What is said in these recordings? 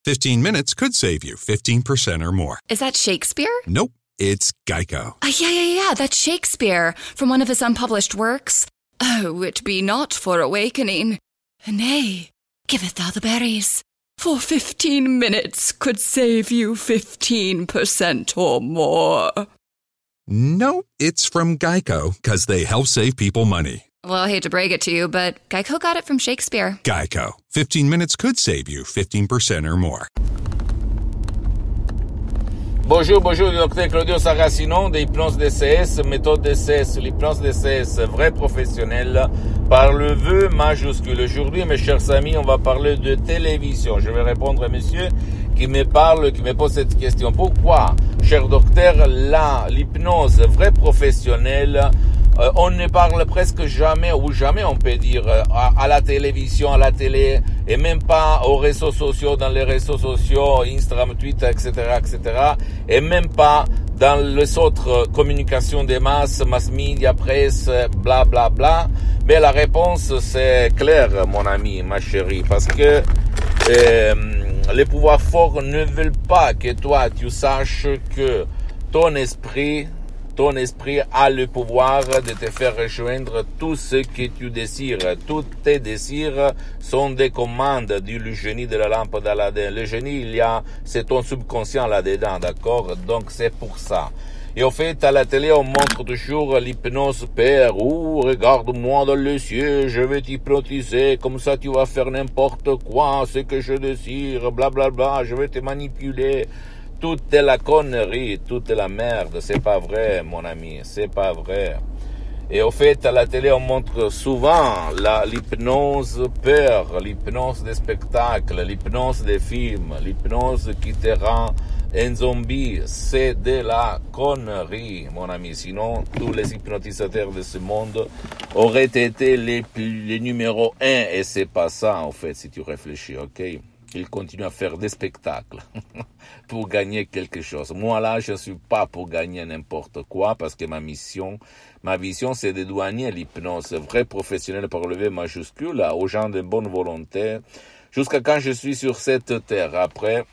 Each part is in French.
15 minutes could save you 15% or more. Is that Shakespeare? Nope, it's Geico. Yeah, that's Shakespeare from one of his unpublished works. Oh, it be not for awakening. Nay, giveth thou the berries. For 15 minutes could save you 15% or more. Nope, it's from Geico, because they help save people money. Well, I hate to break it to you, but Geico got it from Shakespeare. Geico. 15 minutes could save you 15% or more. Bonjour, docteur Claudio Saracino de Hypnose DCS, méthode DCS, l'hypnose DCS, vrai professionnel, par le vœu majuscule. Aujourd'hui, mes chers amis, on va parler de télévision. Je vais répondre à monsieur qui me pose cette question. Pourquoi, cher docteur, l'hypnose vrai professionnelle, on ne parle presque jamais, ou jamais on peut dire, à la télévision, à la télé, et même pas aux réseaux sociaux, dans les réseaux sociaux, Instagram, Twitter, etc., et même pas dans les autres communications des masses, mass media, presse, bla bla bla. Mais la réponse, c'est clair, mon ami, ma chérie, parce que les pouvoirs forts ne veulent pas que toi, tu saches que ton esprit a le pouvoir de te faire rejoindre tout ce que tu désires. Tous tes désirs sont des commandes, dit le génie de la lampe d'Aladin. Le génie, c'est ton subconscient là-dedans, d'accord? Donc c'est pour ça. Et en fait, à la télé, on montre toujours l'hypnose père. Regarde-moi dans les yeux, je vais t'hypnotiser, comme ça tu vas faire n'importe quoi, ce que je désire, blablabla, je vais te manipuler. Tout est la connerie, tout est la merde, c'est pas vrai, mon ami, c'est pas vrai. Et au fait, à la télé, on montre souvent l'hypnose peur, l'hypnose des spectacles, l'hypnose des films, l'hypnose qui te rend un zombie. C'est de la connerie, mon ami. Sinon, tous les hypnotisateurs de ce monde auraient été les numéro 1, et c'est pas ça, en fait, si tu réfléchis, ok? Ils continuent à faire des spectacles pour gagner quelque chose. Moi, là, je ne suis pas pour gagner n'importe quoi, parce que ma vision, c'est de douanier l'hypnose vrai professionnel par le V majuscule aux gens de bonne volonté, jusqu'à quand je suis sur cette terre. Après,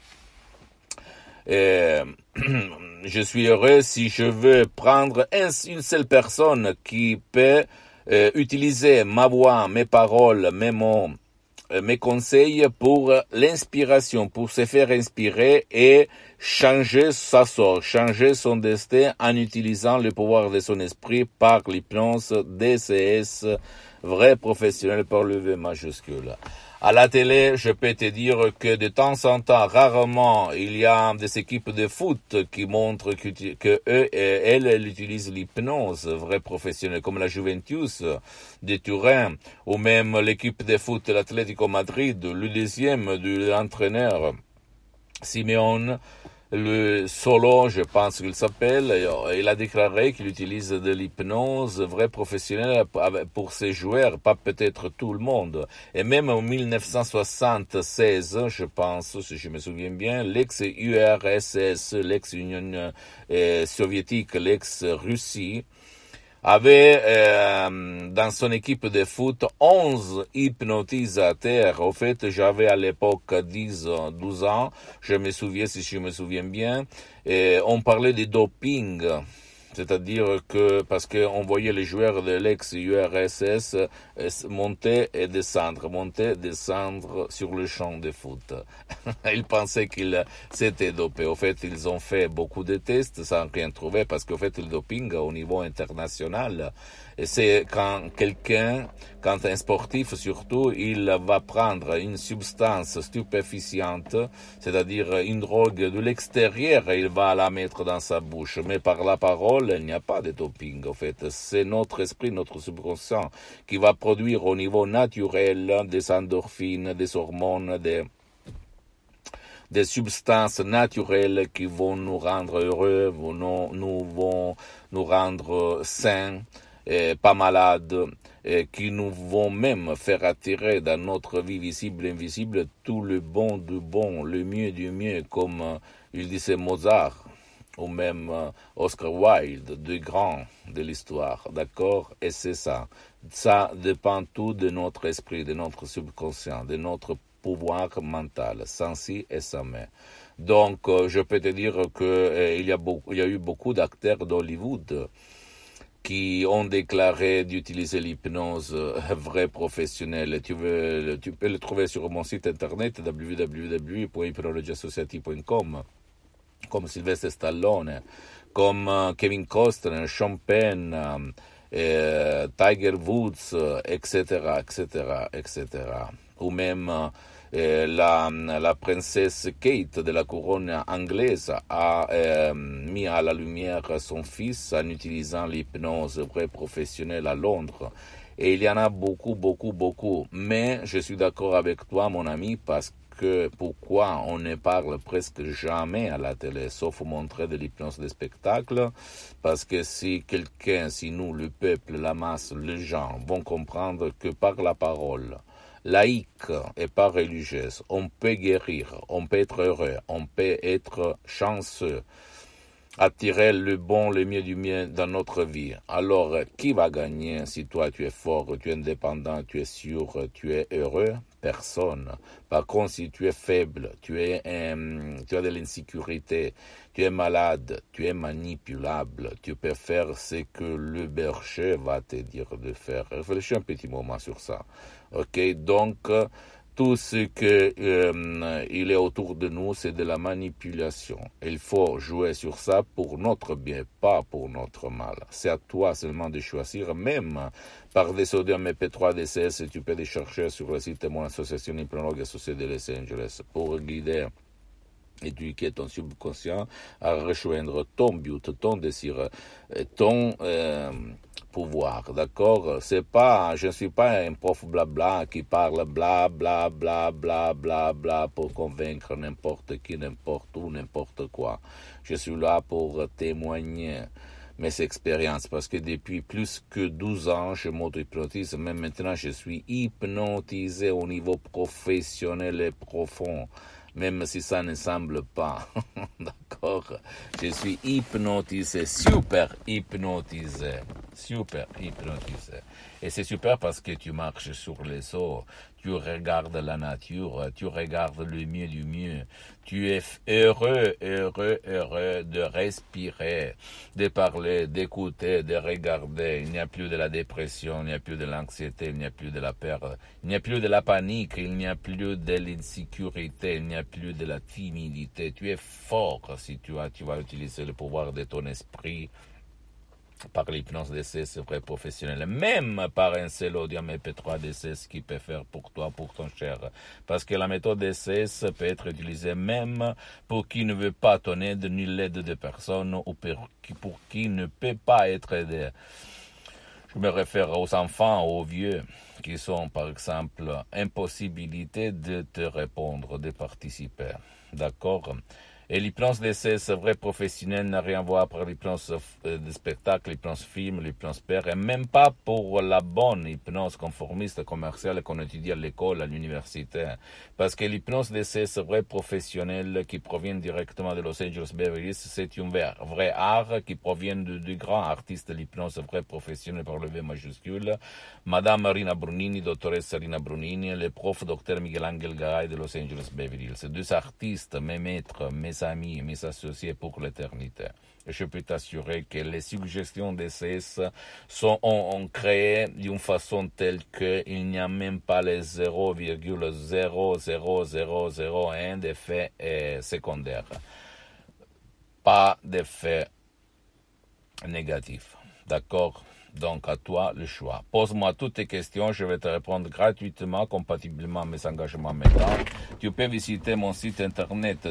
je suis heureux si je veux prendre une seule personne qui peut utiliser ma voix, mes paroles, mes mots, mes conseils pour l'inspiration, pour se faire inspirer et changer sa sorte, changer son destin en utilisant le pouvoir de son esprit par l'hypnose DCS, vrai professionnel par le V majuscule. À la télé, je peux te dire que de temps en temps, rarement, il y a des équipes de foot qui montrent que elles utilisent l'hypnose vrai professionnel, comme la Juventus de Turin, ou même l'équipe de foot de l'Atlético Madrid, le deuxième de l'entraîneur Simeone, le Solo, je pense qu'il s'appelle, il a déclaré qu'il utilise de l'hypnose vrai professionnelle pour ses joueurs, pas peut-être tout le monde. Et même en 1976, je pense, si je me souviens bien, l'ex-URSS, l'ex-Union soviétique, l'ex-Russie, avait dans son équipe de foot 11 hypnotisateurs. Au fait, j'avais à l'époque 12 ans, je me souviens, si je me souviens bien, et on parlait de doping. C'est-à-dire que, parce qu'on voyait les joueurs de l'ex-URSS monter et descendre sur le champ de foot. Ils pensaient qu'ils s'étaient dopés. Au fait, ils ont fait beaucoup de tests sans rien trouver, parce qu'au fait, le doping au niveau international, c'est quand un sportif surtout, il va prendre une substance stupéfiante, c'est-à-dire une drogue de l'extérieur, et il va la mettre dans sa bouche. Mais par la parole, il n'y a pas de doping, en fait. C'est notre esprit, notre subconscient, qui va produire au niveau naturel des endorphines, des hormones, des substances naturelles qui vont nous rendre heureux, vont nous rendre sains, pas malades, qui nous vont même faire attirer dans notre vie visible et invisible tout le bon du bon, le mieux du mieux, comme il disait Mozart, ou même Oscar Wilde, deux grands de l'histoire, d'accord? Et c'est ça. Ça dépend tout de notre esprit, de notre subconscient, de notre pouvoir mental, sans si et sans mais. Donc, je peux te dire que il y a eu beaucoup d'acteurs d'Hollywood qui ont déclaré d'utiliser l'hypnose vraie professionnelle. Tu peux le trouver sur mon site internet www.hypnologiassociative.com, comme Sylvester Stallone, comme Kevin Costner, Sean Penn, Tiger Woods, etc., etc., etc. Ou même la princesse Kate de la couronne anglaise a mis à la lumière son fils en utilisant l'hypnose vraie professionnelle à Londres. Et il y en a beaucoup, beaucoup, beaucoup. Mais je suis d'accord avec toi, mon ami, parce que pourquoi on ne parle presque jamais à la télé, sauf montrer de l'hypnose de spectacle, parce que si nous, le peuple, la masse, les gens vont comprendre que par la parole, laïque et pas religieuse, on peut guérir, on peut être heureux, on peut être chanceux, attirer le bon, le mieux du mieux dans notre vie. Alors, qui va gagner si toi tu es fort, tu es indépendant, tu es sûr, tu es heureux? Personne. Par contre, si tu es faible, tu as de l'insécurité, tu es malade, tu es manipulable, tu peux faire ce que le berger va te dire de faire. Réfléchis un petit moment sur ça. Ok, donc tout ce que il est autour de nous, c'est de la manipulation. Il faut jouer sur ça pour notre bien, pas pour notre mal. C'est à toi seulement de choisir, même par des audios MP3 DCS, tu peux les chercher sur le site de mon association Hypnologue associée de Los Angeles pour guider, éduquer ton subconscient à rejoindre ton but, ton désir, ton pouvoir, d'accord? Je ne suis pas un prof blabla qui parle bla bla bla bla bla bla pour convaincre n'importe qui, n'importe où, n'importe quoi. Je suis là pour témoigner mes expériences, parce que depuis plus que 12 ans, je m'auto-hypnotise, même maintenant je suis hypnotisé au niveau professionnel et profond, même si ça ne semble pas, d'accord? Je suis hypnotisé, super hypnotisé. Et c'est super parce que tu marches sur les eaux, tu regardes la nature, tu regardes le mieux du mieux. Tu es heureux de respirer, de parler, d'écouter, de regarder. Il n'y a plus de la dépression, il n'y a plus de l'anxiété, il n'y a plus de la peur, il n'y a plus de la panique, il n'y a plus de l'insécurité, il n'y a plus de la timidité. Tu es fort si tu vas utiliser le pouvoir de ton esprit par l'hypnose DCS vrai professionnel, même par un seul audio MP3 DCS qui peut faire pour toi, pour ton cher. Parce que la méthode DCS peut être utilisée même pour qui ne veut pas ton aide ni l'aide de personne ou pour qui ne peut pas être aidé. Je me réfère aux enfants, aux vieux, qui sont par exemple impossibilité de te répondre, de participer. D'accord? Et l'hypnose DCS vrai professionnel n'a rien à voir pour l'hypnose de spectacle, l'hypnose film, l'hypnose père, et même pas pour la bonne hypnose conformiste commerciale qu'on étudie à l'école, à l'université. Parce que l'hypnose DCS vrai professionnel qui provient directement de Los Angeles Beverly Hills, c'est un vrai art qui provient du grand artiste de l'hypnose vrai professionnel par le V majuscule, Madame Rina Brunini, doctoresse Rina Brunini, le prof Dr Miguel Angel Garay de Los Angeles Beverly Hills. Ces deux artistes, mes maîtres, mes amis, mes associés pour l'éternité. Et je peux t'assurer que les suggestions DCS ont créé d'une façon telle qu'il n'y a même pas les 0,00001 d'effet secondaire. Pas d'effet négatif. D'accord? Donc, à toi le choix. Pose-moi toutes tes questions, je vais te répondre gratuitement, compatiblement à mes engagements mentaux. Tu peux visiter mon site internet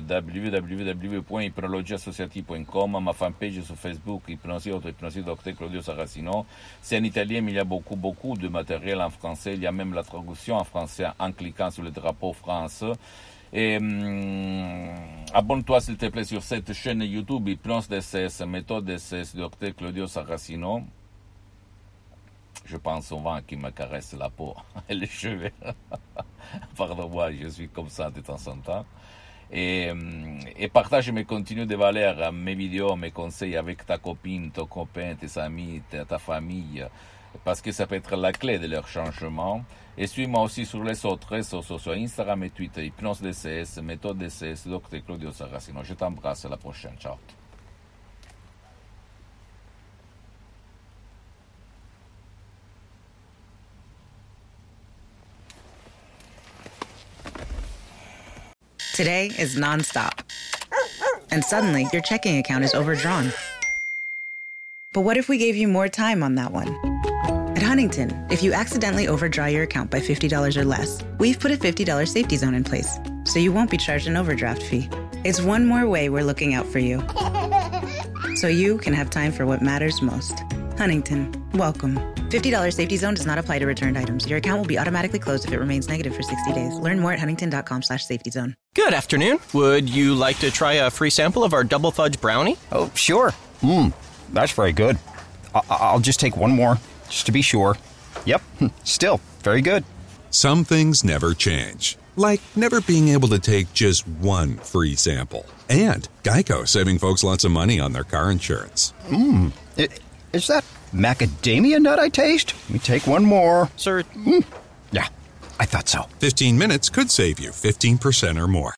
www.hypnologiassociative.com, ma fanpage sur Facebook, Hypnosie, auto-hypnosie, Dr Claudio Saracino. C'est en italien, mais il y a beaucoup de matériel en français. Il y a même la traduction en français en cliquant sur le drapeau France. Et abonne-toi s'il te plaît sur cette chaîne YouTube, Hypnose DCS, méthode DCS, Dr Claudio Saracino. Je pense souvent qu'il me caresse la peau et les cheveux. Pardon-moi, je suis comme ça de temps en temps. Et partage mes contenus de valeur, mes vidéos, mes conseils avec ta copine, ton copain, tes amis, ta famille. parce que ça peut être la clé de leur changement. Et suis-moi aussi sur les autres réseaux sociaux, Instagram et Twitter, Hypnose DCS, Méthode DCS, Dr. Claudio Saracino. Je t'embrasse, à la prochaine. Ciao. Today is nonstop. And suddenly, your checking account is overdrawn. But what if we gave you more time on that one? At Huntington, if you accidentally overdraw your account by $50 or less, we've put a $50 safety zone in place, so you won't be charged an overdraft fee. It's one more way we're looking out for you, so you can have time for what matters most. Huntington, welcome. $50 safety zone does not apply to returned items. Your account will be automatically closed if it remains negative for 60 days. Learn more at huntington.com/safety zone. Good afternoon. Would you like to try a free sample of our double fudge brownie? Oh, sure. That's very good. I'll just take one more, just to be sure. Yep, still very good. Some things never change, like never being able to take just one free sample. And Geico saving folks lots of money on their car insurance. Is that macadamia nut I taste? Let me take one more. Sir, Yeah, I thought so. 15 minutes could save you 15% or more.